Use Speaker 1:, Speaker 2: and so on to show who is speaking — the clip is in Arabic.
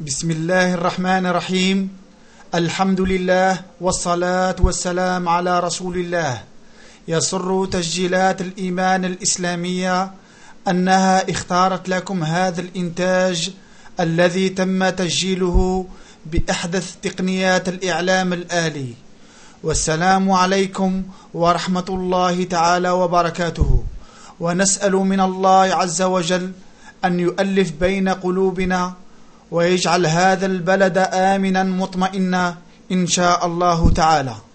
Speaker 1: بسم الله الرحمن الرحيم. الحمد لله والصلاة والسلام على رسول الله. يسر تسجيلات الإيمان الإسلامية أنها اختارت لكم هذا الإنتاج الذي تم تسجيله بأحدث تقنيات الإعلام الآلي. والسلام عليكم ورحمة الله تعالى وبركاته. ونسأل من الله عز وجل أن يؤلف بين قلوبنا ويجعل هذا البلد آمنا مطمئنا إن شاء الله تعالى.